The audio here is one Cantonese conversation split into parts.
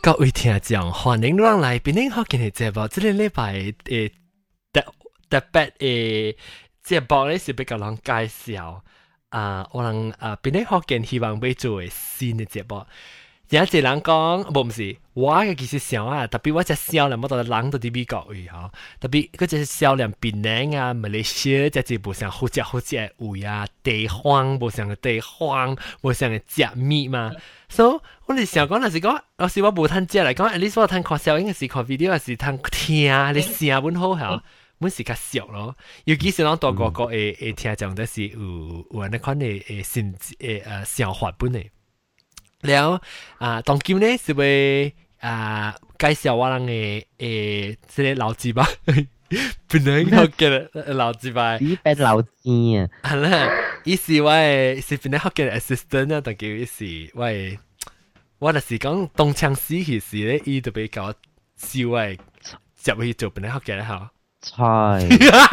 各位聽眾，歡迎讓來邊啲學見嘅節目。這個禮拜特別節目咧是比較人介紹我人邊啲學見希望要做嘅新嘅節目。有一個人講，唔是，我嘅其實想特別我隻少年，我到人到啲美國去嗬，特別嗰隻少年檳榔啊，馬來西亞隻字無像好食嘅味啊，地方無像嘅地方，無像嘅食物嘛。所以我哋想講，若是講，有時我無通食嚟講，at least 我通看小影嘅時看 video，還是通聽你聲本好嚇，本是較俗咯。尤其是咱大個個會聽講，都是有安尼款嘅心想法本嚟。了當今呢是會介紹我人嘅即係老字吧，本來學嘅老字吧， 呢邊老字啊， 係啦，伊是我係是本來學嘅 assistant 啊，但叫伊是我就是講東槍西氣時咧，伊就比較少係入去做本來學嘅咧嚇。 菜，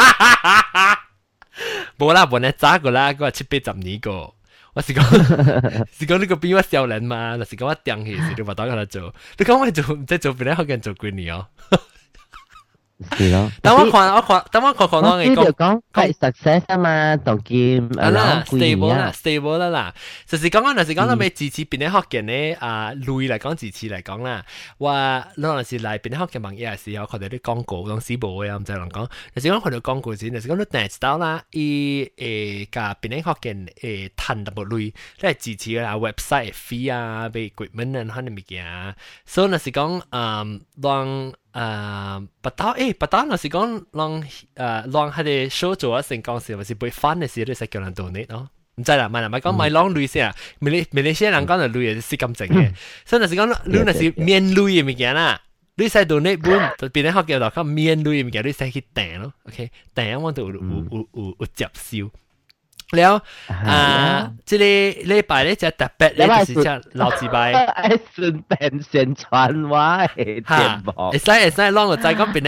冇啦，本來早個啦，嗰7-8年個。我是講是講呢個比我少年嘛，就是講我頂起時，你話打佢嚟做，你講我做即係做邊啲學嘅人做幾年哦？ 是咯。 等我看，我你就講係 success 啊嘛，當劍啦 stable 啦，就是講我，就是講我咪支持邊啲學嘅呢？類嚟講，支持嚟講啦，話嗰陣時嚟邊啲學嘅網頁嘅時候，佢哋啲廣告當時冇嘅，唔使人講，就是講佢哋廣告先，就是講你訂到啦，甲邊啲學嘅賺到冇類，即係支持啦 website fee 啊，俾 equipment 啊，嗰啲物件，所以就是講讓不打那是講讓佢哋 show 做成功時，或是背翻嘅時，都使叫人 donate 咯。唔知啦，咪講買浪類先啊，咪你先人講就類係是咁整嘅，所以那是講你那是面類嘅物件啦，你使 donate 本，就變咗學叫做講面類嘅物件，你使去訂咯 ，OK， 訂我就有接收。了即係禮拜咧就特別咧就是只老字拜， 順便宣傳我嘅節目。 會使，啷個再講邊啲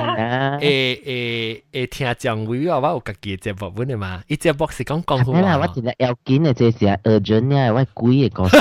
學嘅聽講會我有家己嘅節目本嚟嘛？伊節目是講講好話。我真係要緊嘅，這是urgent 嘅，我鬼嘅故事。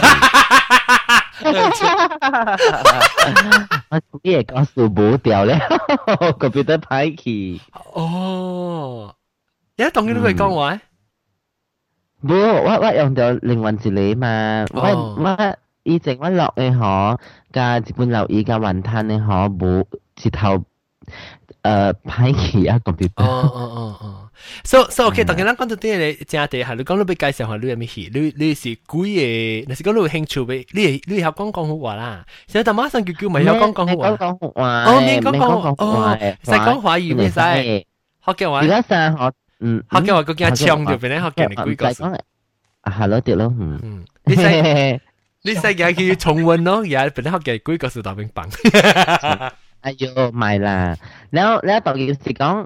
我鬼嘅故事冇掉咧，個別得歹去。 哦，而家當然都會講話。 冇，我用到靈魂治理嘛，我以前我落嘅嗬，加日本留意加雲吞嘅嗬，冇舌頭歹去啊個別。 So OK，當然咱講到啲嘢，正地係你講到俾介紹下你有咩戲，你是鬼嘅，你是講你有興趣俾，你係講廣話啦，所以但馬上叫咪有講廣話。 講話， 免講廣話，使講華語咩使？學嘅話。 而家成日學。 學嘅話，佢驚搶掉邊咧？學嘅你鬼個數。 係咯，對咯， 你使嘅叫重溫咯，而家邊咧學嘅鬼個數大冰棒。 哎呦，咪啦，แล้ว當件事講，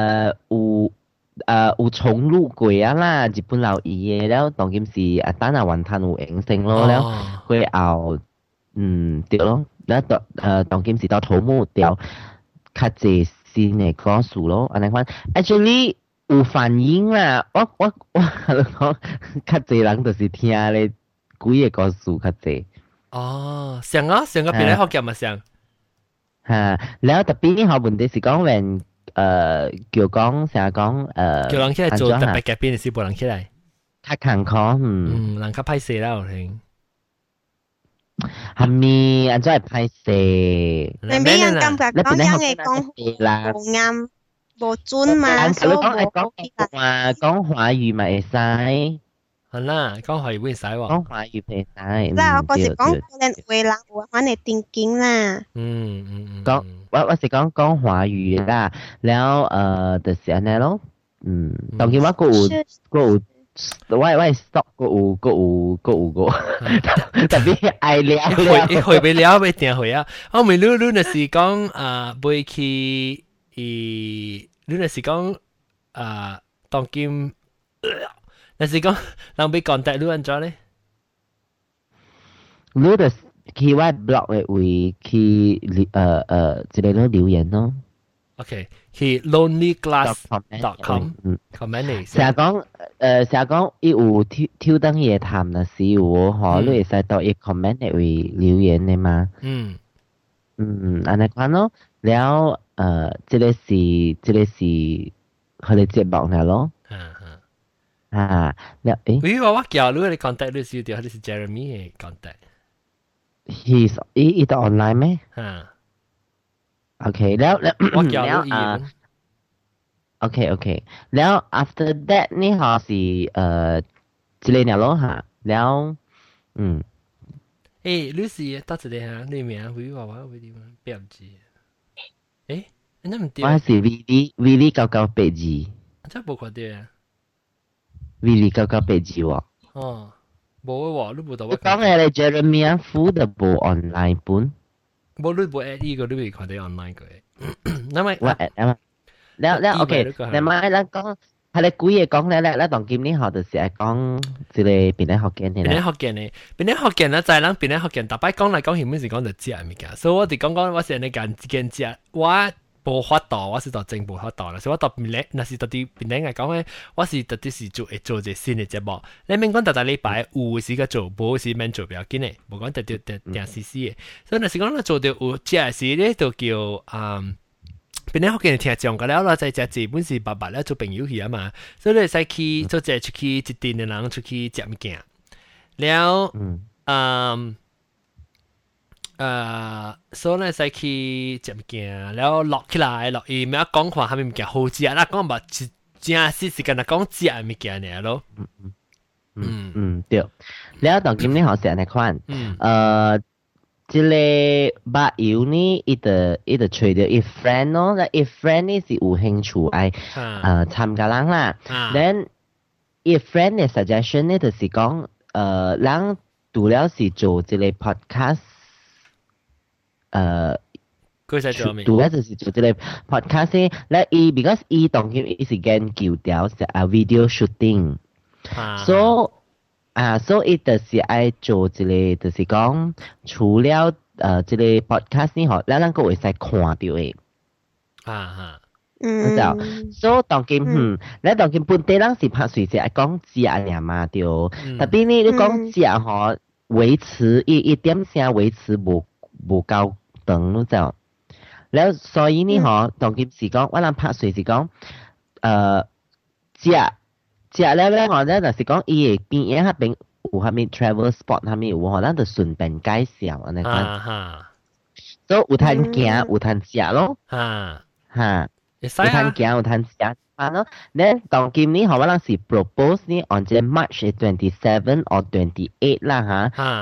有重錄過啊啦，日本留意嘅，แล้ว當件事單係雲吞有影性咯，แล้ว佢後掉咯，แล้ว當件事到頭目掉，較濟先嘅歌數咯，安尼款 ，actually。有反應啦，我講較濟人就是聽咧幾個故事較濟。 哦，上個邊咧學嘅嘛上。 嚇，แล้ว特別好問題是講when叫講成日講叫人起來做特別嘅邊是冇人起來。 較坎坷， 人較歹勢啦，我聽。 係咪？安怎係歹勢？ 你俾人感覺講樣嘅講冇啱。無準嘛，所以講華語咪會使， 係啦，講華語會使喎。 講華語會使。 嗱，我是講可能為人有反嚟定經啦。 講我是講華語啦，แล้ว就是安尼咯。當然我我 stop 個，特別愛聊。 會未了未定會啊？我咪你就是講會去。你那是講當今，那是講人被contact你安怎咧？ 你就去我 blog 嘅位去一個咯留言咯。 OK，去 lonelyglass.com comment 成日講成日講伊有挑燈夜談嘅時候，嗬，你會使到伊 comment 會留言嘅嘛？安尼款咯，แล้ว即個是佢哋節目嚟咯。แล้ว我叫你 contact 你是條，你是 Jeremy 嘅 contact。He's 都 online 咩？OK， แล้ว我叫你 OK，แล้ว after that นี่เขา是之類咯嚇，แล้ว你是到這裡嚇，你名會話我會點標記？那唔對。 我是 Willy 998字。 真冇看到啊 ！Willy 998字喎。 哦，冇喎，你冇到我。 你講嘅你 Jeremy 副的冇 online 本。 冇你冇 at 呢個，你未看到 online 嘅。那麼我 at 啊。แล้วOK，你咪啦講，係你估嘢講咧，當今年學就是係講即係邊啲學嘅呢？ 邊啲學嘅就係咱邊啲學嘅，大擺講嚟講去，每時講就食物件，所以我哋講我是你間間食，我無法度，我是到真無法度啦，所以我到邊咧，那是到啲邊咧嚟講咧，我是特啲是做一個新嘅節目，你免講大禮拜有時個做，無時免做比較緊嘅，無講特定時嘅，所以那是講咱做到有食時咧，就叫邊啲學嘅聽講嘅了啦，在只本是白白咧做朋友去啊嘛，所以你使去做只出去一定嘅人出去食物件，了所以咧使去食物件，了落起來落去，咩講看下面物件好食，啦講嘛正是時間啦講食物件嚟咯。 對，แล้ว當今年學食呢款，即個把油呢，伊就吹到伊 friend 咯，那伊 friend 呢是有興趣愛參加人啦。then 伊 friend 嘅 suggestion 呢就是講，人除了是做即個 podcast，除了就是做即個 podcast 咧，咧伊 because 伊當今伊是研究條video shooting，so。所以就是愛做一個，就是講除了這個 podcast 呢，嗬，咱個會使看到嘅。所以當今咱當今本地人是拍隨時愛講食爾嘛，對。特別呢，你講食嗬，維持一點聲維持無夠長，你知道？แล้ว所以呢，嗬，當今是講，我哋拍隨時講，食了咧，我咧就是講伊嘅邊下邊有下面 travel spot 下面有可能就順便介紹安尼款，所以有攤行有攤食咯，有攤行有攤食翻咯。咧當今呢，可能是 propose 呢 on 這 March 27 or 28啦嚇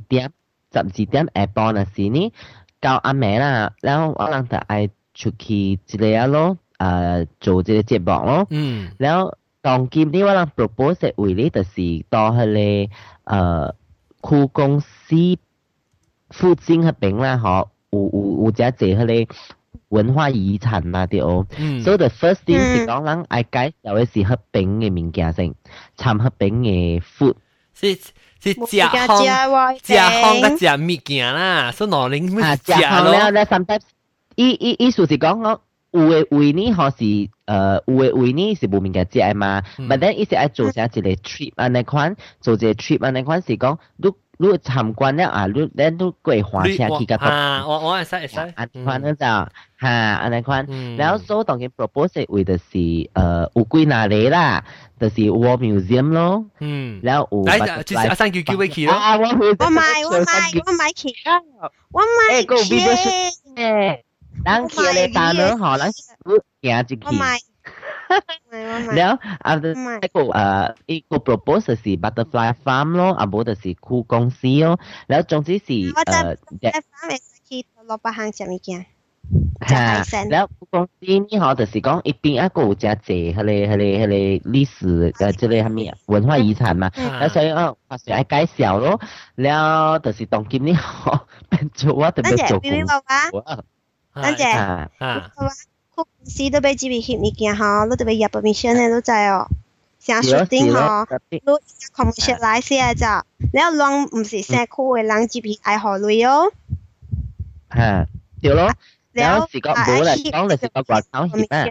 ，12點下晡嘅時呢，到暗暝啦，然後可能就愛出去一個咯，做這個節目咯，然後。當今呢，我哋 propose 嘅位呢，就是到佢哋區公司附近嗰邊啦，嗬，有只係佢哋文化遺產嘛，對哦。所以 the first thing 是講人愛介紹嘅是嗰邊嘅物件先，參嗰邊嘅 food。 是食烘嘅食物件啦，所以攞嚟咩食咯？ 咧 sometimes 意思是講我。有嘅位呢，可是有嘅位呢是無物件食嘛，但係伊是愛做成一個 trip 安尼款，做一個 trip 安尼款是講，你參觀了啊，你過花車去個我會使安尼款就安尼款，然後所當然 propose 為就是有幾哪裡啦，就是 War Museum 咯，然後有就是阿生叫佢去咯， 我買去咯，我買去。 咱去咧打呢，嗬，咱行一去。แล้วafter 一個 propose 是 butterfly farm 咯，啊冇就是酷公司咯，แล้ว總之是 butterfly farm 去落百行食物件。 แล้ว酷公司呢，嗬，就是講一邊一個有真濟，佢哋歷史即係咩文化遺產嘛，แล้ว所以發想愛介紹咯，แล้ว就是當今呢，嗬，變做我特別做工。 等陣，酷公司都俾 GP 物件嗬，你特別入 permission 咧都知哦。成書店嗬，你 commercialize 嘅咋？你有啷唔是成酷嘅人 GP 愛學類哦？ 對咯。 แล้ว時講冇嚟講就是個外口翕啊，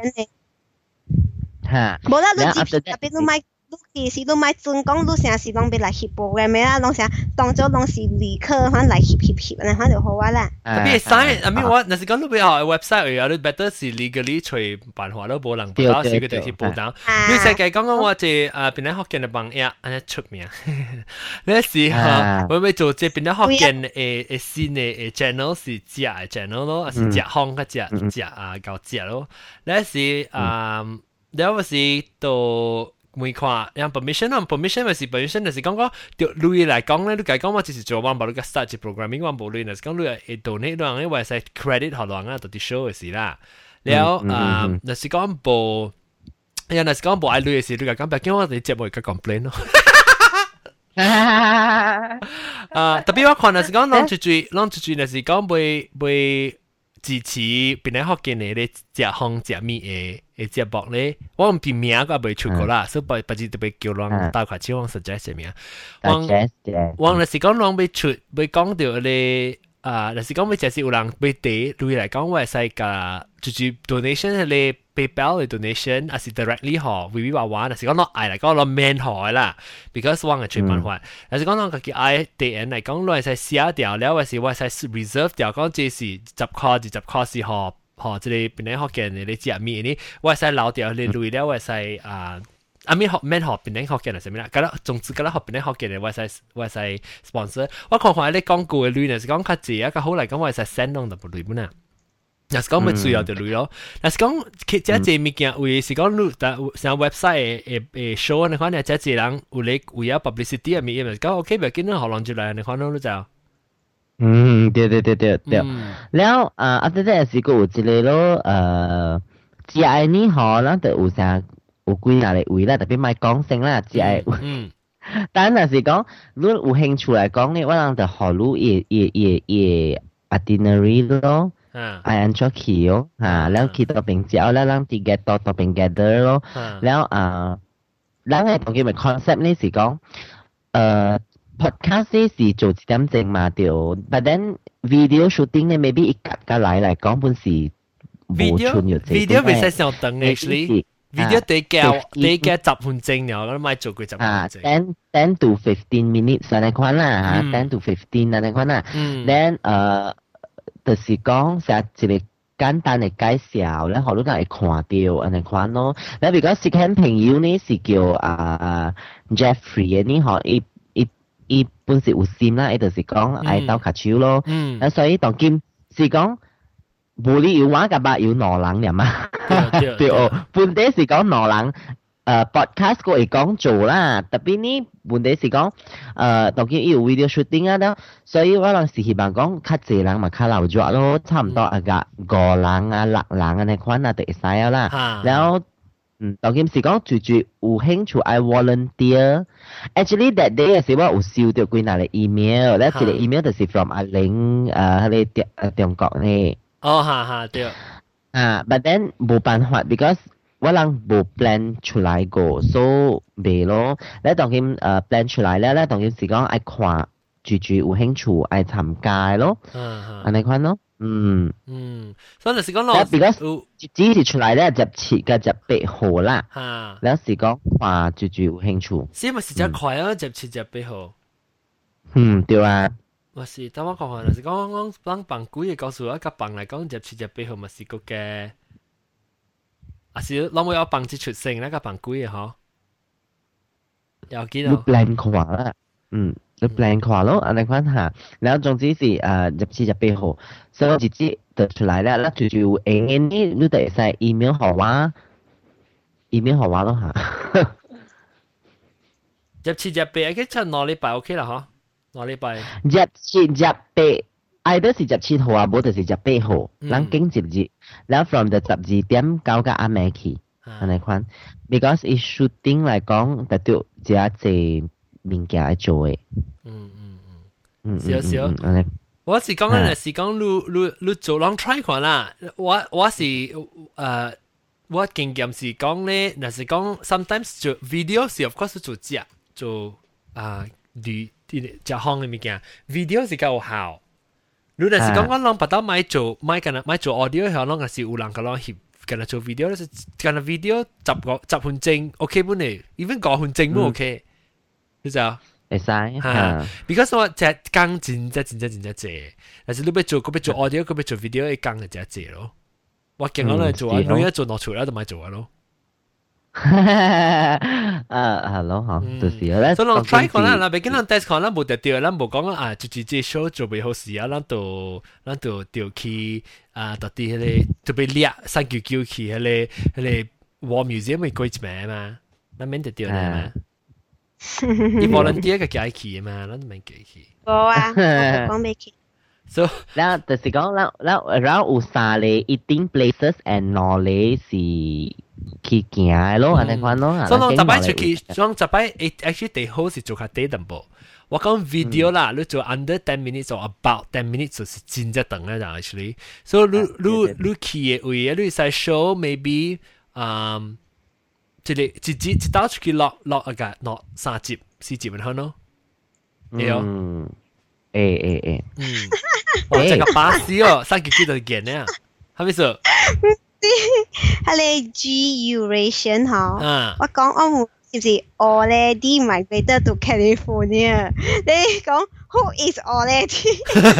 嚇， 無啦，你 after 特別你買。其實你買準講，你成時攏別來翕 program 嘅啦，攏成當做攏是旅客，反來翕，安尼反就好啊啦。 特別係，I mean 我，若是講你比較 website 有啲 better 是 legally 隨辦法都無人報導，是佢哋去報導。你世界講我即邊啲福建嘅朋友，安尼出名。呢時候我咪做即邊啲福建誒新嘅 channel 是隻嘅 channel 咯，是隻行嘅隻搞隻咯。呢時有時到。每看，讓 permission 咪是 permission，就是講講對類嚟講咧，你講講我只是做我冇你個 start 嘅 programming，我冇類，就是講你係 donate 兩個，或者 credit 學兩個，到啲 show 嘅事啦。然後就是講冇，然後就是講冇愛類嘅事，你講白講我哋節目而家 complain 咯。特別我看就是講，啷住就是講會支持邊啲學嘅你咧，隻行隻咪嘅節目咧，我唔片名我未出過啦，所以不知特別叫啷大塊超我 suggest 名。我就是講啷未出，未講到咧就是講未就係有人未俾對嚟講，我係使個就是 donation 咧 PayPal 嘅 donation，還是 directly 學 VV 娃娃，就是講啷愛嚟講啷 man 學啦 ，because 我係最辦法。但是講啷個叫愛啲人嚟講，我係使寫掉了，或是我係使 reserve 掉，講這是10塊是學。即係邊啲學嘅你知咩呢？我係使留掉你類了，我係使I mean 學邊啲學嘅係咩啦？咁啦，總之咁啦，學邊啲學嘅我係使 sponsor。我看啲廣告嘅類呢，是講較濟啊，較好嚟講我係使 send on 就類本啊。若是講咪主要就類咯。若是講其實濟物件為是講你上 website 誒 show 你看你即係人有你有 publicity 啊咪，講 OK 咪見到學人就嚟你看到就。 對，แล้วafter that 是個有一個咯只係呢嗬，咱就有啥有幾下嚟位啦，特別賣講聲啦，只係但係是講你有興趣嚟講呢，我人就學你itinerary 咯，I enjoy 佢咯嚇，แล้ว佢ตัวเป็นเจ้าแล้ว咱ที่ get ตัวเป็น gather 咯，แล้ว咱係當佢咪 concept 呢是講podcast 是做一點正嘛對 ，but then video shooting 呢 maybe 一格格嚟講本是冇出有這 video 未使上等 actually video 得10分鐘了，我咪做過10分鐘。 10 to 15 minutes 嚟講啦嚇，10 to 15嚟講啦。then 就是講成一個簡單嘅介紹咧，好多人會看到嚟講咯。嗱，如果是佢朋友呢是叫Jeffrey 呢學伊本是有心啦，伊就是講愛鬥卡手咯。所以當今是講無理由話個吧有兩人㗎嘛。對哦，本地是講兩人podcast 個會講做啦，特別呢本地是講當今伊有 video shooting 啊咯，所以我人是希望講較濟人嘛較留住咯，差唔多啊個5人啊6人啊呢款啊就會使啊啦，然後。當今是講最有興趣愛 volunteer。Actually that day 嘅時我有收到幾個 email，咧一個 email 就是 from 阿玲喺中國呢。 哦，對。 but then 冇辦法 ，because 我人冇 plan 出來過，所以未咯。咧當今plan 出來咧，當今是講愛看最有興趣愛參加咯。安尼款咯。 所以就是講咯， 只是出來咧17個18號啦，แล้ว是講話最有興趣。 是咪是只快啊？17、18號。 對啊。 我是，等我講下，就是講幫辦幾個告訴我，甲辦嚟講17、18號咪是個嘅，啊是，攞冇有辦一出聲咧，甲辦幾個嗬？有幾多？ 你 plan 過啦，你 plan 過咯，安尼款嚇，然後總之是17、18號，所以我直接就出來啦，嗱就你就會使 email 給我 ，email 給我咯嚇。 17、18，佢出2禮拜 OK 啦嗬，2禮拜。 17、18，either 是17號啊，冇就是18號，咱經接日，然後 from 就12點到個暗暝去，安尼款 ，because it shooting 嚟講，特別只係物件來做嘅。 少。我是講緊是講你做啷 try 看啦。我是我經驗是講咧，那是講 sometimes 做 video 是 of course 做旅隻行嘅物件 ，video 是較有效。 你若是講我啷不到買做 audio 後，啷個是有人個啷翕，跟佢做 video 咧，是跟佢 video 10分鐘 OK 本嚟，even 5分鐘都 OK，你知啊？ 會使嚇 ，because 我隻工真濟，但是你要做 audio，佢要做 video， 一工就真濟咯。我見我嚟做啊，你一做落出嚟就咪做啊咯。 係咯，嚇，就是咧。 所以我 try 看啦，別見人 test 看啦，冇得掉啦，冇講啊，就直接 show 做未好事啊，咱就掉去啊，到啲迄個就被掠399去迄個 War Museum 咪過一名嘛，咱免得掉啦嘛。伊volunteer 個加去嘛，咱免加去。 冇啊，講未去。 So， 然後就是講，然後有3個eating places and 2個是。去行嘅咯，安尼款咯。 所以我10擺出去，我10擺 actually 最好是做下短淡薄。我講 video 啦，你做 under 10 minutes or about 10 minutes 就是真正長嘅啦 actually。所以你去嘅位，你使 show maybe 一刀出去落3集4集咁樣咯。係哦。哇！這個巴士哦，399就見咧，係咪說？ 係你 G-Eurasian 嗬，我講我唔是 already migrated to California， 你講 who is already？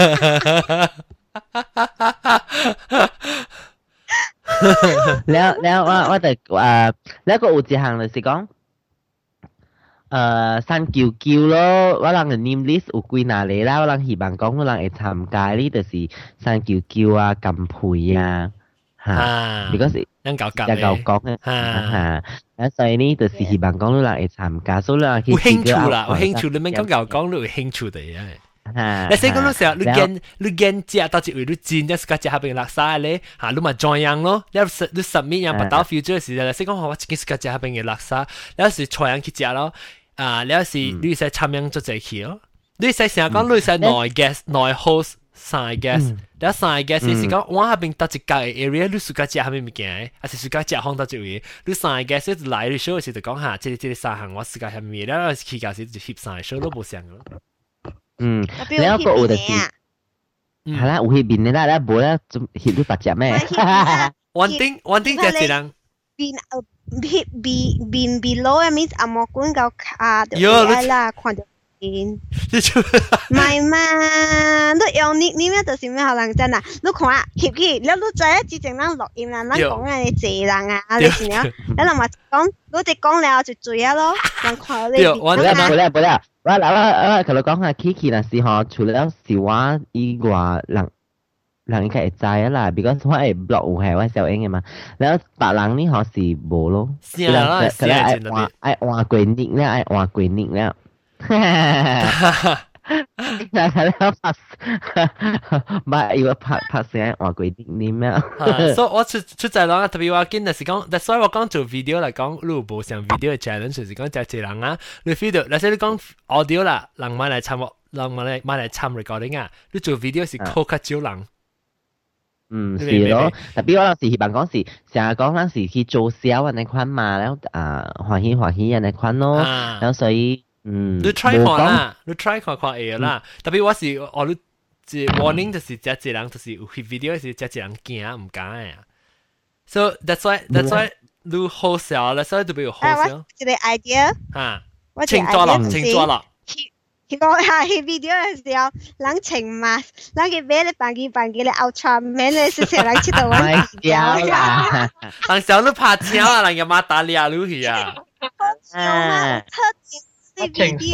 แล้ว我哋แล้วก็有一項就是講399咯，我人嘅 name list 有幾哪裡啦，我人希望講我人會參加呢，就是399啊、金培啊。because 人搞講嘅，所以呢就是希望講你人會參加，所以人有興趣啦，有興趣你免講你有興趣的啊。你先講到時候，你見食到一位你真係自己下邊垃圾咧，嚇你咪 join 樣咯，你 submit 樣不到 future 嘅時候，你先講我自己自己下邊嘅垃圾，你有時採樣去食咯，你有時你使參樣做這去咯，你使成日講你使內 guest 內 host。3 guest， แล้ว3 guest 是講我下邊到一個 area， 你自家食下邊物件嘅，還是自家食放到一位，你3 guest 就來你 show 時就講下，這3項我自家下面，然後去教時就翕3 show 都冇相咯。 แล้วก็有就是係啦，有翕面嘅啦，แล้ว冇啦，就翕到8隻咩 ？One thing 就係人。 邊 below means 阿莫管夠卡，係啦，看到。唔係嘛？你用你咩就是咩可能真啊？你看啊，翕起，你知啊？之前咱錄音啦，咱講嘅你濟人啊，你是了，你人嘛講，你哋講了就醉啊咯，人看你。 冇啦，我同你講下 Kiki 那時候，除了是我以外，人應該會知啊啦 ，because 我係 blog 有係我小英嘅嘛，然後別人呢可是冇咯， 係啦， 佢哋愛換過年咧，愛換過年咧。唔要拍聲話佢啲咩啊？ 所以我出在啦，特別話見就是講，但所以我講做 video 嚟講，你有冇上 video 嘅 challenge，就是講就係人啊，你 video，嗱，所以你講 audio 啦，人買嚟參，人買嚟參 recording 啊，你做 video 是靠較少人。 是咯，特別我有時希望講是成日講嗰時去做銷人哋款嘛，然後歡喜人哋款咯，然後所以。 你 try 看啦，你 try 看會啦。特別我是你即 warning 就是隻人就是有 video 是隻人驚唔敢嘅。So that's why 你好笑啦，所以就比較好笑。 一個 idea 嚇，清楚啦。 佢講下 video 嘅時候，人情嘛，人嘅俾你扮嘅你 Ultraman 咧，是成人出到玩笑啦。 人小都怕笑啊，人又馬打你啊，你去啊。 video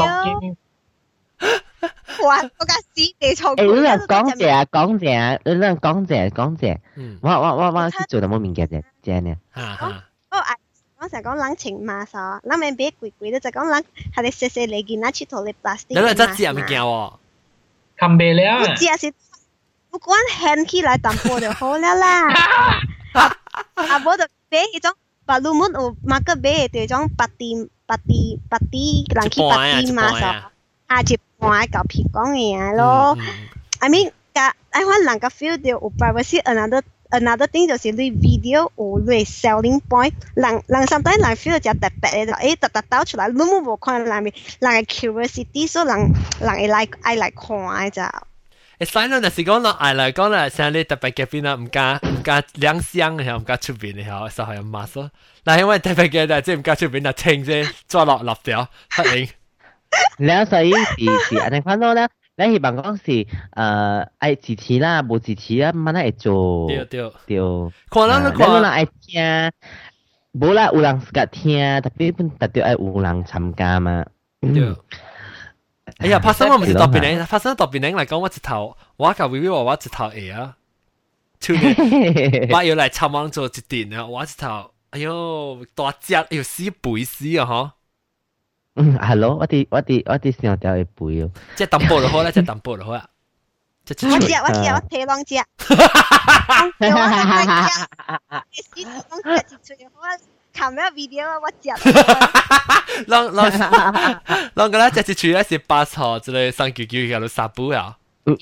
哇！我架屎地錯。 你兩講謝，我去做到冇面嘅啫呢。 我成日講人情嘛啥，人咪俾貴貴咧，就講人係你細細嚟見拿出頭你 plastic。 你真知係咪叫喎？ 冚備了。 我知係是，不管hand起來淡薄就好了啦。啊，我就俾嗰種白露門有馬個俾嗰種白啲，人去白啲嘛啥，一半嚿皮講嘢咯。I mean，I want 人個 feel 到有 privacy another thing 就是你 video 有你 selling point， 人 sometimes 人 feel 到特別嘅，特倒出來，你冇看人嘅 curiosity， 所以人會愛來看咋。 會使咯，但是講落愛來講啦，像你特別嘅邊啦，唔加兩箱嘅，唔加出邊嘅，就係咁麻嗦。嗱，因為特別嘅即係唔加出邊就清啫，抓落落掉，不應。 แล้ว所以是อันนี้ความรู้แล้วแล้วที่บางก็是ไอ้支持啦冇支持啦มันน่าจะ做對看啦แล้วเราไอ้聽冇啦有人個聽特別特別愛有人參加嘛對哎呀，發生我唔是特別呢，發生特別呢嚟講，我一頭我甲微微話我一頭會啊，去年我要嚟參網做一點啊，我一頭哎呦大隻，哎呦死背死啊嗬！ 係咯，我啲上條會背哦。 即係抌波就好啦，即係抌波就好啦。 我睇兩隻。你試講隻隻出我看咩 video 我隻。 啷個咧？隻隻出咧是8號，之類399嘅都殺補啊！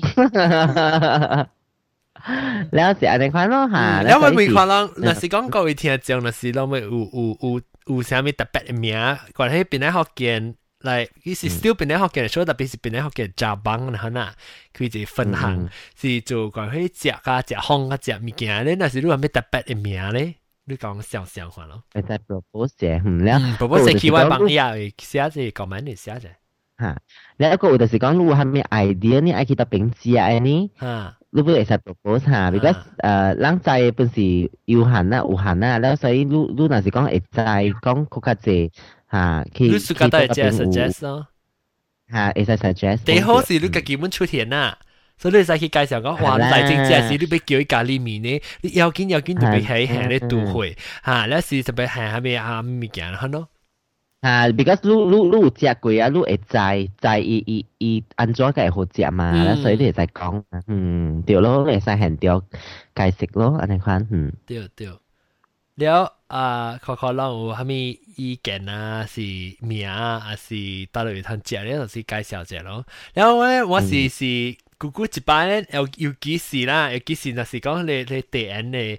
แล้วสิอันนี้ความรู้ค่ะแล้วมันมีความรู้那是講各位聽眾那是เราไม่有啥咪特別嘅名，關係邊咧學見嚟，佢是 still 邊咧學見，所以特別是邊咧學見加幫啦嗱，佢就分行是做關係食啊食烘啊食物件咧，那是你話咩特別嘅名咧？你講少少看咯。 係在 propose 嘅，แล้ว propose 係佢話幫你啊，寫字講乜你寫啫？ 嚇，แล้วก็就是講如果係咩 idea นี่ไอ้คิดตัวเป็นเสียไอ้นี่รู้ว่าไอ้สัตว์ propose หา because ร่างใจเป็นสีอยู่หันน่ะอูหันน่ะแล้ว所以รู้น่ะสิ講ไอ้ใจ講โคกาเจหาคิด都係 suggest 咯หาไอ้ suggest 第好是你個基本出現啦所以你使去介紹講哇嚟正正是你俾叫伊咖喱麵呢你要緊就俾喺你度會嚇แล้ว是特別係咪啊物件嚇咯 because รู้食過啊，รู้在伊安怎個會好食嘛，แล้ว所以你會使講，對咯，你會使限掉解釋咯，安尼款， 對，แล้ว可能有蝦米意見啊，是名啊，還是到底通食咧，就是介紹者咯。แล้ว咧，我是姑姑一擺咧，有幾時啦，有幾時那是講你第一嘅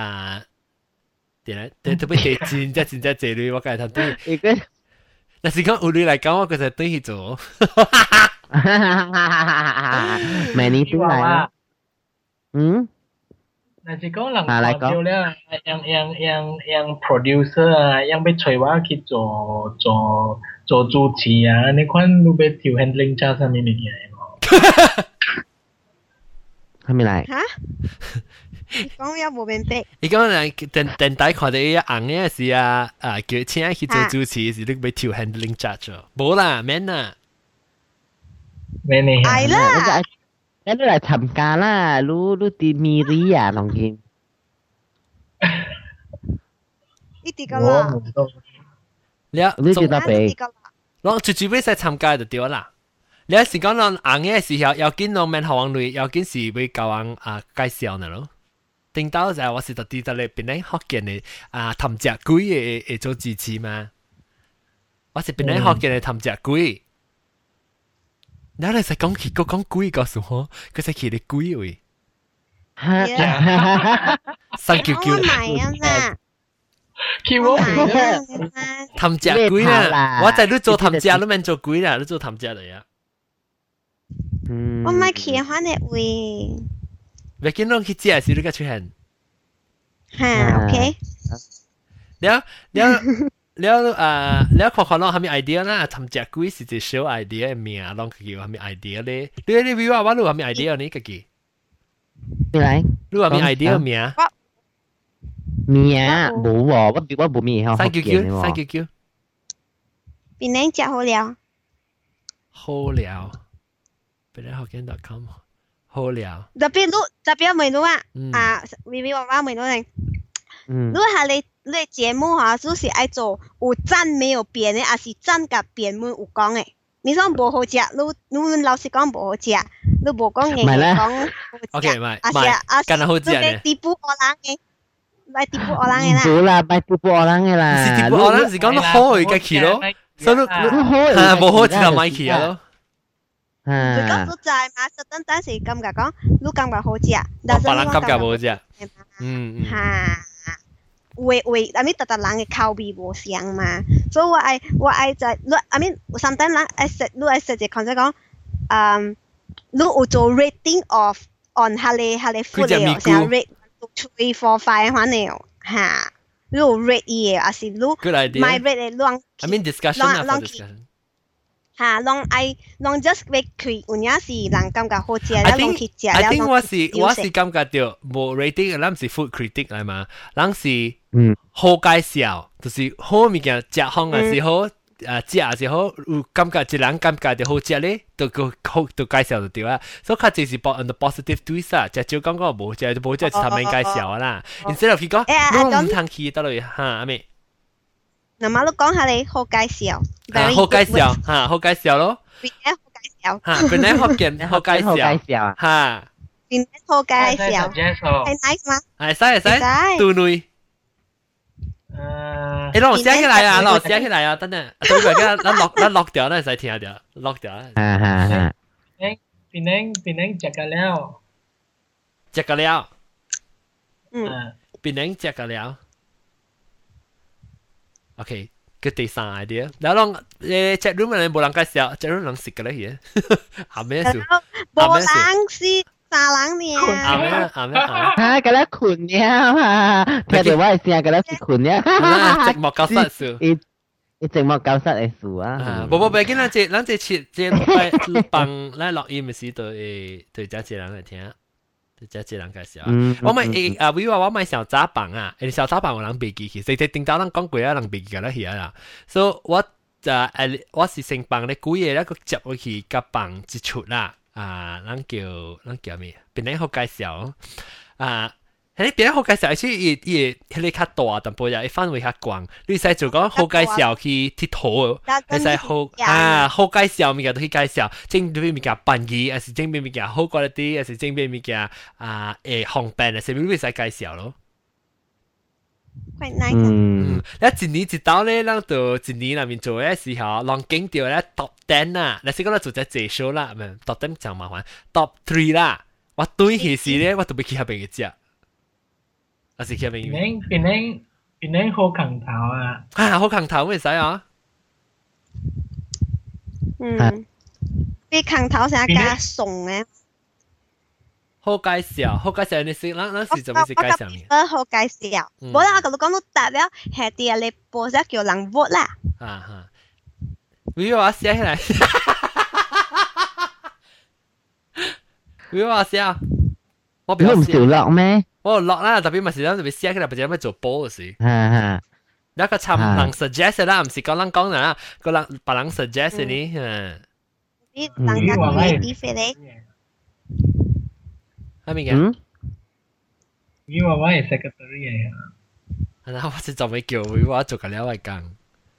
點咧，特別第真正這類我介通對。但是講有你嚟講，我其實對去做。 咪你對嚟但是講人看到了，樣 producer 啊，樣要找我去做主持啊，你看你要調 handling 加啥物物件喎？ 係咪嚟？ 嚇？你講也冇明白。 你講電台看到伊紅嘅是叫請去做主持是你要調 handling judge 冇啦，免啦。 免你係啦。 แล้วเราทำการล่ะรู้ตีมีรีอ่ะน้องกิม呢啲噶啦， แล้ว你知道未？ 攏直接要使參加就對啦。你是講攏紅嘅時候，要緊攏免學王類，要緊是要教人介紹呢咯。頂到就我是特地在你邊咧學見嘅談食鬼會做主持嘛。我是邊咧學見嘅談食鬼。然後你使講佢講鬼告訴我，佢使佢哋鬼位。399。 我買啊嘛。 叫我談食鬼啦！我在你做談食，你免做鬼啦，你做談食嚟啊！ 我買企翻嚟位。 未見到佢食時，你個出現。 嚇 ，OK。 แล้วขอลองทำมีไอเดียนะทำจากกุ้ยสิจะโชว์ไอเดียเมียลองกี่ว่ามีไอเดียเลยเรื่องนี้วิวว่ารู้ว่ามีไอเดียนี้กี่มีอะไรรู้ว่ามีไอเดียเมีย冇喎我冇咩好 399 邊靚食好了邊靚學見.com 好了特別美女啊วิวว่า美女嚟如果係你節目哈，就是愛做有讚沒有變的，還是讚甲變沒有講的。你講無好食，你老實講無好食，你無講硬講好食。 OK，咪，干得好食呢？ 地補我人嘅，咪地補我人嘅啦。 唔啦，咪地補我人嘅啦。 是地補我人是講你好嘅去咯，所以你無好就咪去咯。 就講都在嘛，實等陣時感覺講，你感覺好食，但係別人感覺無好食。 嚇。I mean 特人嘅口味無相嘛，所以我愛在，I mean sometimes 人愛食，你愛食就講講， 你有做 rating of on 下你 food 了，成 rate 3 4 5反正嚇，你有 rate 嘢，還是你 my rate 嘅亂 I mean discussion 啊 for discussion 嚇，亂 just rate 佢，有陣時人感覺好食，然後亂去食， I think 我是感覺到冇 rating，咱唔是 food critic 嚟嘛，咱是好介紹，就是好物件食好也是好。食也是好，有感覺一人感覺就好食咧，都介紹就對啦。所以佢就是on the positive twist 啊，就少講個冇食，冇食就頭面介紹啦。instead of 佢講，你唔通去得落嚇阿妹。 嗱，馬碌講下你好介紹， 好介紹嚇，好介紹咯。 邊啲好介紹？ 嚇，邊啲好見好介紹嚇。 邊啲好介紹？係 nice 嗎？ 係，對女。誒，攞寫起來啊！攞寫起來啊！等陣，對唔住，咱落掉，咱使聽掉，落掉。 邊領食個了， 食個了。邊領食個了。OK，個第三 idea，然後chat room 人冇人介紹，chat room 人食個咧嘢，後面數， 冇人試。啥人呢？ 啊，嗰啲困了啊！聽到我嘅聲，嗰啲是困了。 寂寞教室數， 寂寞教室嘅數啊！ 冇，別緊，咱這切幫咱錄音嘅時對這些人來聽，對這些人介紹。我咪比如話我買小雜棒啊，小雜棒有人背記起，所以頂到咱講過啊，人背記㗎啦係啦。所以我是成棒咧，古嘢咧個接落去個棒一出啦。咱叫咩？邊啲好介紹啊？喺邊啲好介紹？而且伊迄個較大，但不過伊範圍較廣。你使做講好介紹去佚佗，你使好介紹物件都去介紹。整邊物件便宜，還是整邊物件好quality，還是整邊物件方便，還是你使介紹咯。 quite nice。 一年一刀咧，咱到一年內面做嘅時候，人經掉咧 top 10啊，你先講咱做只介紹啦，唔係 top 10就麻煩 ，top 3啦。我對起時咧，我都未去下邊嘅食，還是去下邊。 邊好強頭啊！ 好強頭咩使啊？ 啲強頭成日加餸嘅。 好介紹，你識，咱是做咩是介紹嘅？ 好介紹，冇啦，我講到答了，係啲你播咗叫人 vote 啦。 比如我寫起來，比如我寫，我唔少落咩？ 我落啦，特別咪是咱特別寫起來，或者咩做波嘅事。一個參人 suggest 啦，唔是講人講啦，個人別人 suggest 你。 啲人家講啲飛咧。 係咪嘅？ 你話我係 secretary 啊？ 係啦，我是做咩叫我做緊了位工。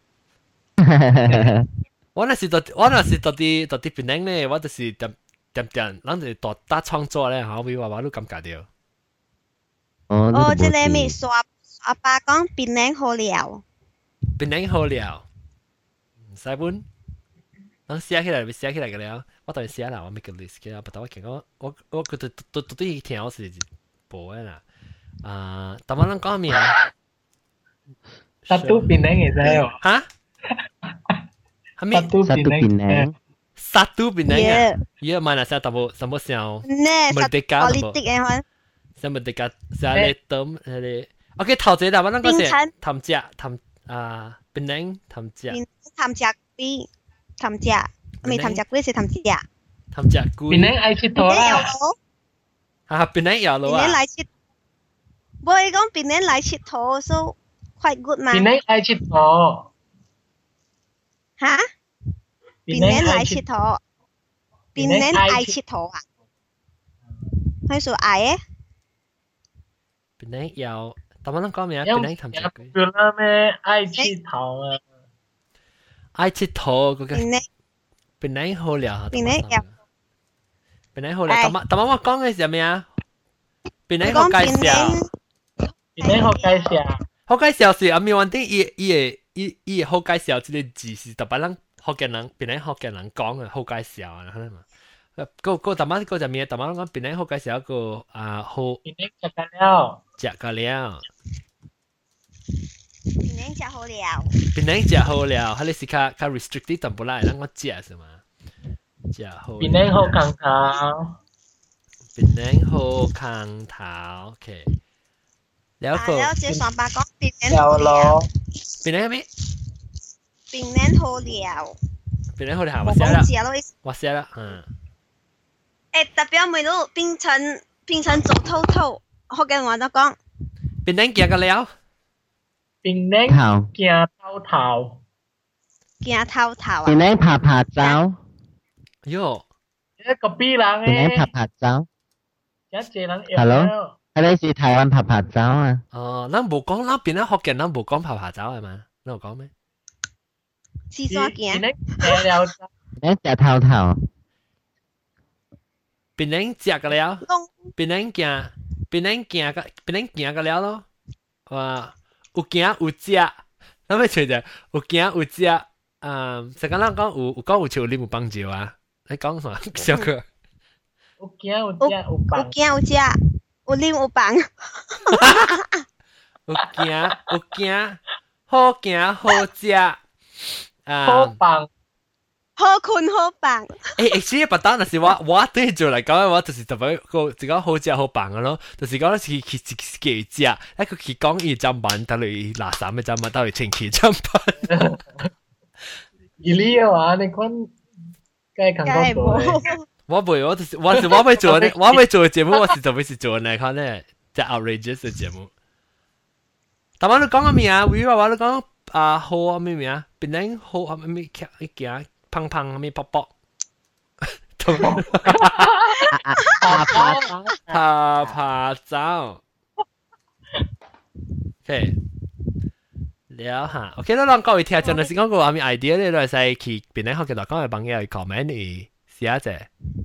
我那是到啲邊領咧，我就是點，咱哋打創作咧，嚇，我都感覺到。 即係咪阿爸講邊領好料？ 邊領好料，唔使本，等寫起來嘅了。我當然寫啦，我 make a list 嘅，但我見我覺得都啲聽我是播嘅啦。但我諗講咩啊？ 殺到邊領嘅啫喎！ 嚇？係咩？殺到邊領啊！依個問下先，但冇什麼時候？ 咩？ 迪加冇？什麼迪加？啥嚟等嚟 ？OK， 頭先但我諗講先，談只邊領談只。 談只龜，談只。未談只龜是談只。 談只龜。 邊領愛切頭啦。 邊領有咯啊。 邊領來切，我講邊領來切頭，so quite good 嘛。 邊領愛切頭。 嚇？邊領來切頭，邊領愛切頭啊？佢數愛嘅。 邊領有，但我諗講咩啊？邊領談只龜。 有啦咩？愛切頭啊！ 愛切頭嗰個。邊領好料，邊領好料。但我講嘅係咩啊？邊領好介紹， 邊領好介紹。 好介紹是阿咪話啲伊好介紹，即個字是特別人學嘅人，邊領學嘅人講嘅好介紹啊，係嘛？個特別個就咩？特別講邊領好介紹一個好。 邊領食個料， 食個料。 邊領食好料， 邊領食好料，佢哋是較 restricted 淡薄啦，讓我食是嘛？ 食好。 檳榔好康頭， 檳榔好康頭 ，OK。แล้วก็แล้วเจสองปากก็ปิ่นแน่นแล้วโฮ咯เลียวเป็นไงมั้ยปิ่นแน่นโฮเลียวเป็นไง好ถาม我ว่าเสีย講ละ字咯， ว่าเสียละ代表每路變成做透透，學嘅我都講， เป็นนั่งเกี่ยวกันแล้ว檳榔頭， 行頭頭， 行透透啊檳，榔拍拍走， โย่一個 B 人檳榔拍誒， 拍走， 一隻人 Hello？ 了， 嗰啲是台灣拍拍走啊， 哦咱冇講咱邊咧學嘅咱冇講爬爬走係嘛咱有講咩廁所檳行， 榔行了， 檳榔食頭頭， เป็นนั่งเจียกันแล้ว弄เป็นนั่งเกี่ยเป็นนั่งเกี่ยกันแล้ว咯ว่า有行有食咱咪隨着有行有食實講咱講有講有笑你冇幫助啊你講啥小哥有行有食有有放， 行有食，有啉有放， 有行好行好食好放， 好困好放， 其實不單是我對做嚟講嘅話，就是特別個一個好食好棒嘅咯，就是講是幾食，一個佢講伊砧板，到嚟垃圾嘅砧板，到嚟清氣砧板。 伊你嘅話，你講該kan多梗係做咧， 冇， 我會做呢，我會做嘅節目，我是特別是做嚟看呢，即係 outrageous 嘅節目。但我都講個咩啊？會話我都講好啊咩咩啊？變靚好啊咩一件胖胖咩卜卜。 拍拍走， 爬走，OK，了哈，OK，咱各位聽眾，就是講個話咩 idea 咧，都係使去邊咧學嘅，講嘅朋友去 comment 嚟寫者，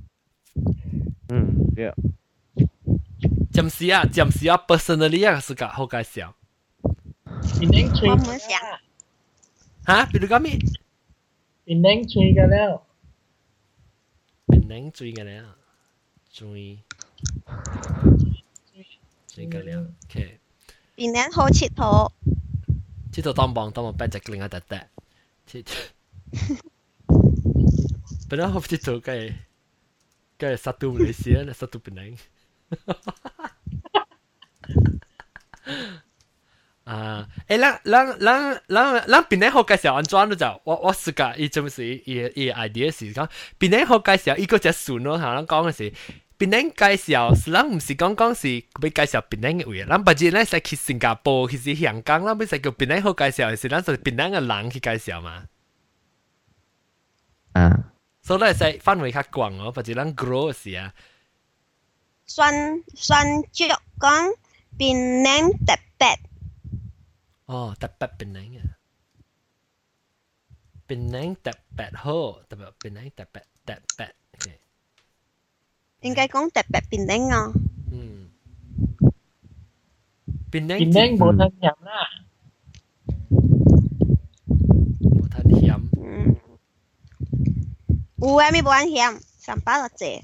對， 暫時啊 personally 啊是個好介紹， 檳榔吹我唔想， 嚇，比如講咩？ 檳榔吹嘅了， 檳榔追嘅咧，追嘅咧，OK， 變靚好切好， 呢度當幫逼隻另一笪笪，本來好似做嘅殺到你先啦，殺到檳榔。咱邊咧好介紹安裝都就我試過，伊真係伊 idea 是講邊咧好介紹，伊個只順咯嚇，咱講嘅是邊咧介紹，是咱唔是講是要介紹邊咧嘅位，咱不止咧使去新加坡，去是香港，咱要使叫邊咧好介紹，是咱就邊咧嘅人去介紹嘛。所以咱使範圍較廣咯，不止咱 grow 嘅時啊。 酸竹講變靚特別， 哦，特別檳榔啊，檳榔特別好，特別檳榔特別，OK， 應該講特別變靚啊， 檳榔檳榔冇得飲啦， 冇太鹹， 有啊咪冇人嫌，上班就謝，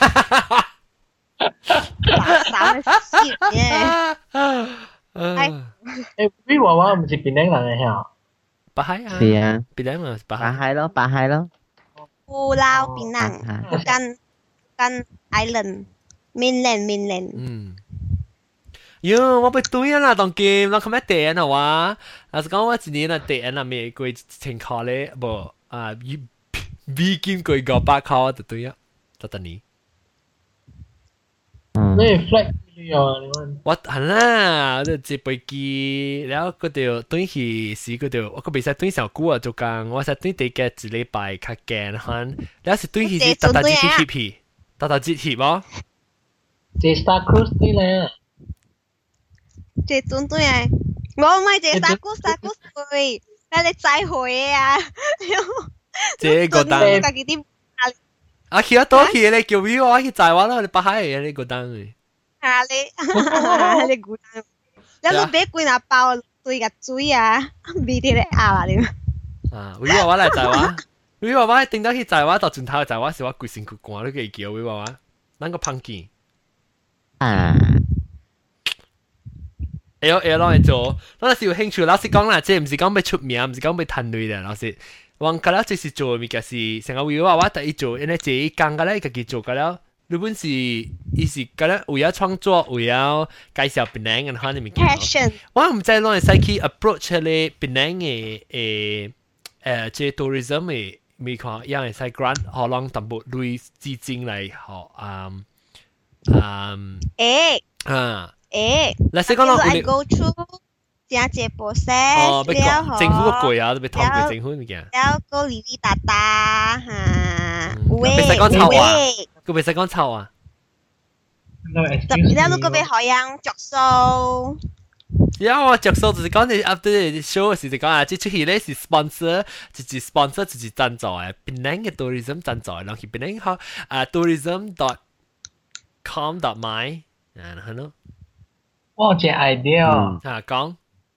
三個笑嘅， 誒，你娃娃唔是檳榔人嘅嚇， 巴海啊， 是啊， 檳榔嘛，巴拍海， 海咯，拍海咯， 富撈變靚，跟 island mainland， 喲，我被對啦，當劍，我今日第一啊話，係講我一年啊第一啊未過情況咧，無啊美金過500塊就對啊，就等你。 你 flag 你啊，你講。 我係啦，我就接飛機，然後嗰條短期時嗰條，我個比賽短上久啊，做工，我實短地嘅一禮拜較驚ਹਨ，然後是短期時特節去去，特節去冇？ 坐 Star Cruise 啲咧， 這種對啊，我唔係這三股對，但你再會啊， 這個單， 自己啲啊去得多去咧，叫我我去載我啦，你巴海嘅呢個單嘅。 啊你估單，你攞俾幾拿包對個嘴啊，俾啲你咬啊你。 啊，會話我嚟載我，會話我定到去載我，到轉頭載我時我攰成佢趕都幾叫會話我，撚個胖見。咯，你做，嗰陣時有興趣，老師講啦，即係唔是講要出名，唔是講要賺錢嘅，老師。 往嗰啦，就是做物件是成個為話第一做，因為這一講嘅咧，自己做嘅了。日本是，伊是嗰咧為咗創作，為咗介紹檳榔嘅款嘅物件。 passion。 我唔知攞嚟使去 approach 咧檳榔嘅即 tourism 嘅，咪看樣係使 grant 可能淡薄類資金嚟學嗱，先講咯， I go through 正一 process， 哦，要講政府個貴啊，都要通過政府物件。 了個哩哩達達嚇， 喂，別使講臭啊，佢別使講臭啊。 特別咧，嗰邊海洋着數。 呀，我着數就是講你 after 你 show 時就講啊，即出去咧是 sponsor， 自己 sponsor 自己贊助嘅，檳榔嘅 tourism 贊助，然後去檳榔學tourism.com.my 然後呢？ 我有一個 idea， 講。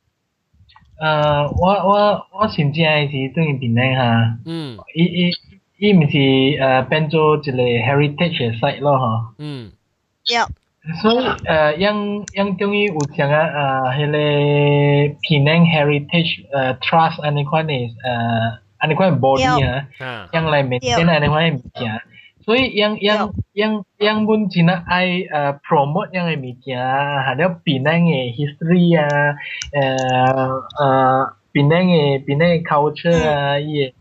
我真正是對檳榔哈，伊唔是變做一個 heritage 嘅 site 咯吼。 對。 所以樣中意有像迄個檳榔 heritage trust 安尼款嘅安尼款 body 啊，樣來 maintain 安尼款嘅物件。所以樣本真係愛promote 樣嘅物件，還有檳榔嘅 history 啊，檳榔嘅 culture 啊，伊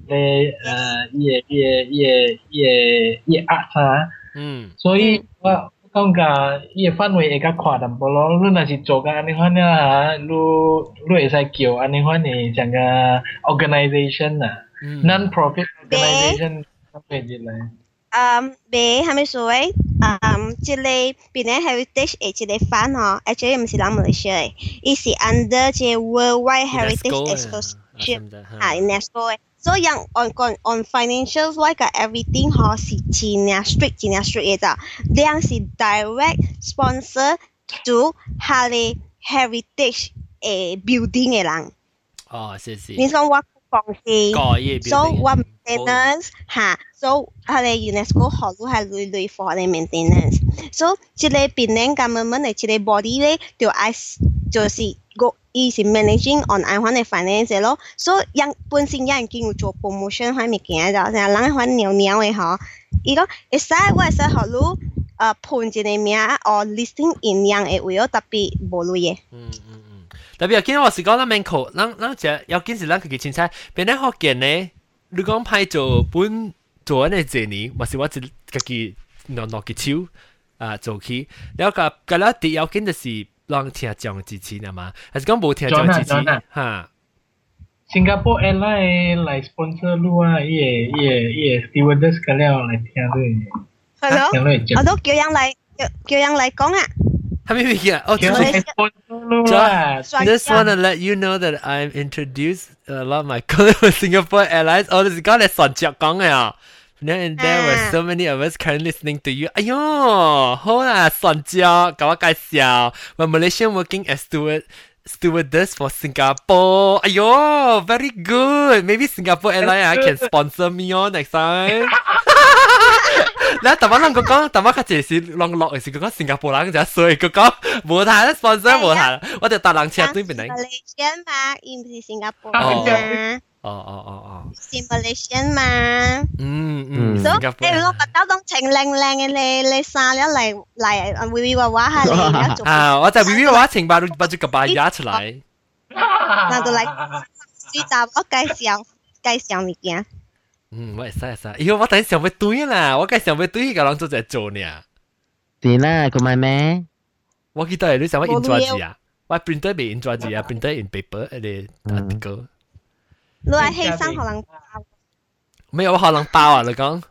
嘅 art 啊，所以我感覺伊嘅範圍會較寬淡薄咯。你若是做個安尼款啊，你會使叫安尼款嘅像個 organisation 啊，non-profit organisation 咁嘅嚟。 係咪所謂？即個檳榔 heritage 嘅即個番吼 ，actually 唔是咱馬來西亞嘅，伊是 under 即 worldwide heritage association UNESCO 嘅。所以on financial like everything 吼是真呀 strict 嘅咋，兩是 direct sponsor to 下個 heritage 嘅 building 嘅人。 哦，是。 你講我講是 ，so 我 maintenance 嚇。So 佢哋 UNESCO 學都係類 for 佢哋 maintenance。So 即個檳榔 government 嘅即個 body 咧，就是個伊是 managing on 安款嘅 finance 咯。So 本身有人經有做 promotion 款物件就，成日人款鳥嘅嗬。伊講會使我會使學你判一個名or listing in 樣嘅位咯，特別無類嘅。 特別見我是講咱免扣，咱只要緊是咱自己凊彩，檳榔學見咧，你講派做本。做安尼一年，或是我自己攞個手做起，然後個啦第要緊就是讓聽講支持啊嘛，還是講冇聽講支持哈？ 新加坡 airline 嚟 sponsor 路啊，伊個 stewardess 個了來聽對。 係咯，我都叫人嚟講啊。 係咪嘢？哦，Just wanna let you know that I'm introduced a lot of my colleagues with Singapore Airlines. 我就是講嚟上節講嘅啊。And there were so many of us currently listening to you. 哎喲，好啦，上節給我介紹。我 Malaysian working as stewardess for Singapore. 哎喲 ，very good. Maybe Singapore Airlines can sponsor me on next time. 嗱，但我諗講，但我佢只是落嘅是講新加坡人就所以佢講冇睇啦 sponsor 冇睇，我就搭纜車對邊嚟。 Malaysian 嘛，而唔是新加坡嘛。是 Malaysian 嘛。新加坡。我覺得當情靚嘅你衫了嚟微微娃娃下嚟。 啊，我就微微娃娃情把住個把牙出嚟。 那就嚟最大我介紹物件。 我會使，以後我等想要對啦，我梗係想要對個人做在做呢。 是啦，佢買咩？ 我記得你想要 intro 字啊，我 printer 未 intro 字啊 ，printer in paper 嘅 article。 你係犧牲可能包？ 沒有，我可能包啊！你講。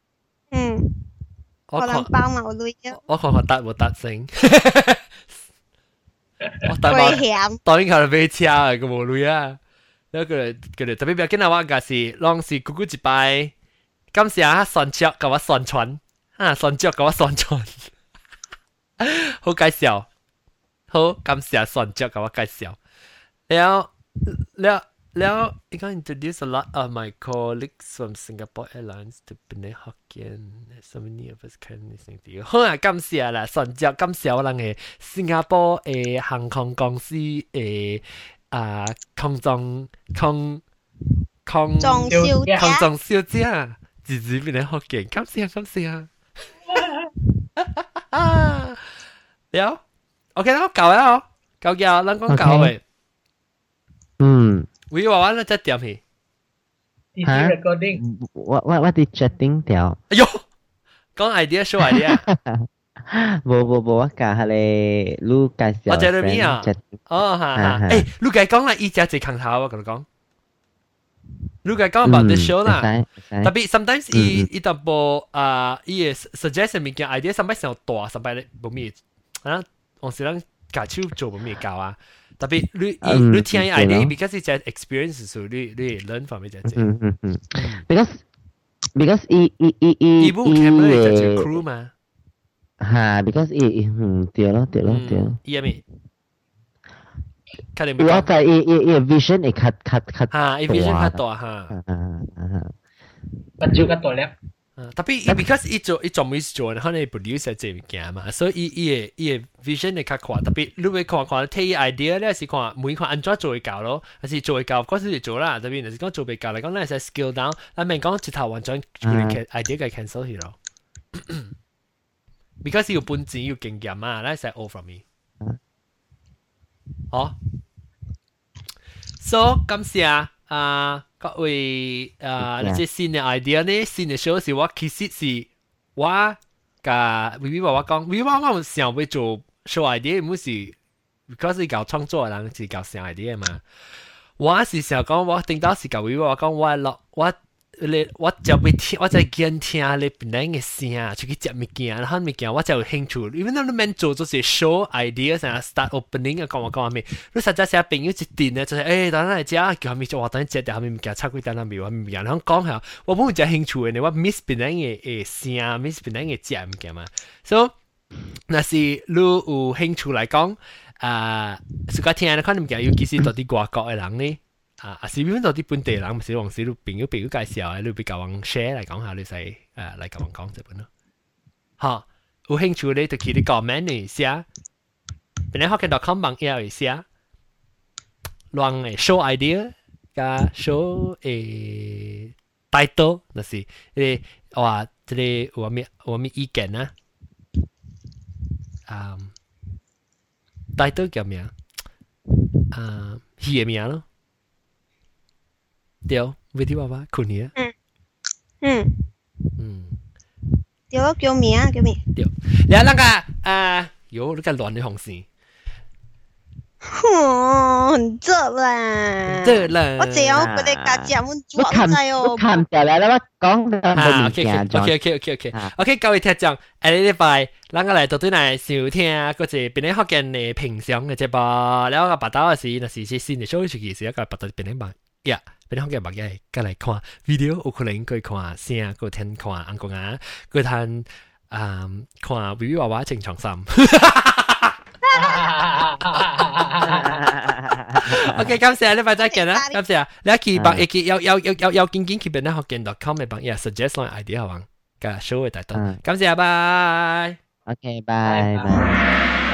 可能包嘛，我累咗。 我看答冇答聲。我答冇，當然係俾車啊，個冇累啊。แล้วก็เลย特別要緊話個是攏是咕咕一擺，感謝宣傳甲我宣傳，宣傳甲我宣傳，好介紹，好感謝宣傳甲我介紹。แล้วI can introduce a lot of my colleagues from Singapore Airlines to Penang Hokkien. So many of us can listen to you. 好啊，感謝啦，宣傳感謝我哋嘅新加坡嘅航空公司嘅。空中康裝小姐， 康中小姐，自己變得學勁，感謝。了，OK 啦，夠啦，夠嘅，咱講夠嘅。喂，娃娃咧即點去？ 哈 recording， 我啲 chatting 條。 哎呦，講 idea show idea。 冇，我教下你，你介紹。 我在裏面啊。哦，哈，誒，你介講啦，依家最坑頭，我同你講。你介講 about the show 啦，特別 sometimes 伊特部伊嘅 suggest 物件 idea sometimes 上大，sometimes 咧冇咩啊，我是咱家手做冇咩教啊。特別你聽 idea because it's an experience，所以你 learn from 呢隻嘢。 because 伊部 camera 就做 crew 嘛。 嚇 ，because 對咯。 伊係咩？ 我就伊 vision 會較嚇，伊 vision 較大嚇。 目睭較大粒。 特別because 伊做每做，可能 produce 隻物件嘛，所以伊嘅 vision 會較寬。特別你會看睇 idea 咧，是看每看安怎做會教咯，還是做會教，嗰時就做啦。特別係講做會教嚟講，咱係 skill down，咱咪講一頭完全 idea 嘅 cancel 去咯。because 要本錢要經驗啊，咱係 all from me。好 ，so 感謝各位你即新嘅 idea 呢，新嘅 show 是我其實是我甲 Vivi 話我講，Vivi 話我想要做 show idea，唔是 because 是搞創作嘅人是搞想 idea 嘛。我是想講，我頂到是甲 Vivi 話講，我就會聽，我就見聽你本來嘅聲，出去接物件，然後物件我就有興趣。因為你免做就是 show idea，成日 start opening 啊，講咩？你實在成日朋友一定咧，就是等陣嚟食，叫佢咪做，我等陣食，但係物件插幾單啦，咪話物件，然後講下，我冇只興趣嘅，我 miss 本來嘅聲 ，miss 本來嘅食物件嘛。所以，那是你有興趣嚟講，自家聽咧，可能物件尤其是到啲外國嘅人咧。是邊度啲本地人，唔是往時都朋友介紹，你俾教人 share 嚟講下，你使嚟教人講這本咯。嚇，有興趣你就去啲 comment 嚟寫，邊啲學嘅 .com 網頁嚟寫，亂嘅 show idea 加 show title， 那是話這裡我咩意見啊？title 叫咩啊？戲嘅名咯。對，為啲爸爸困你啊？ 對咯，叫咩？ 對，你那個喲，你個亂的紅線。 很熱啦。我這樣佢哋家姐們做晒哦。 看掉啦，我講到冇物件。 OK，各位聽眾，下個禮拜，咱個來到對來收聽嗰隻邊啲福建嘅平常嘅節目，แล้ว個八刀嘅時，那是新嘅 show 出去時，一個八刀邊啲辦呀？邊啲福建物嘅，過來看 video，有可能過看聲，過聽看安公啊，過聽看 Vivi 娃娃正常心。OK， 感謝你，拜再見啦，感謝你去幫要緊去邊啲福建 .com 嘅幫嘢 suggest 來 idea 好唔？個 show 嘅大多，感謝，拜。 OK，拜。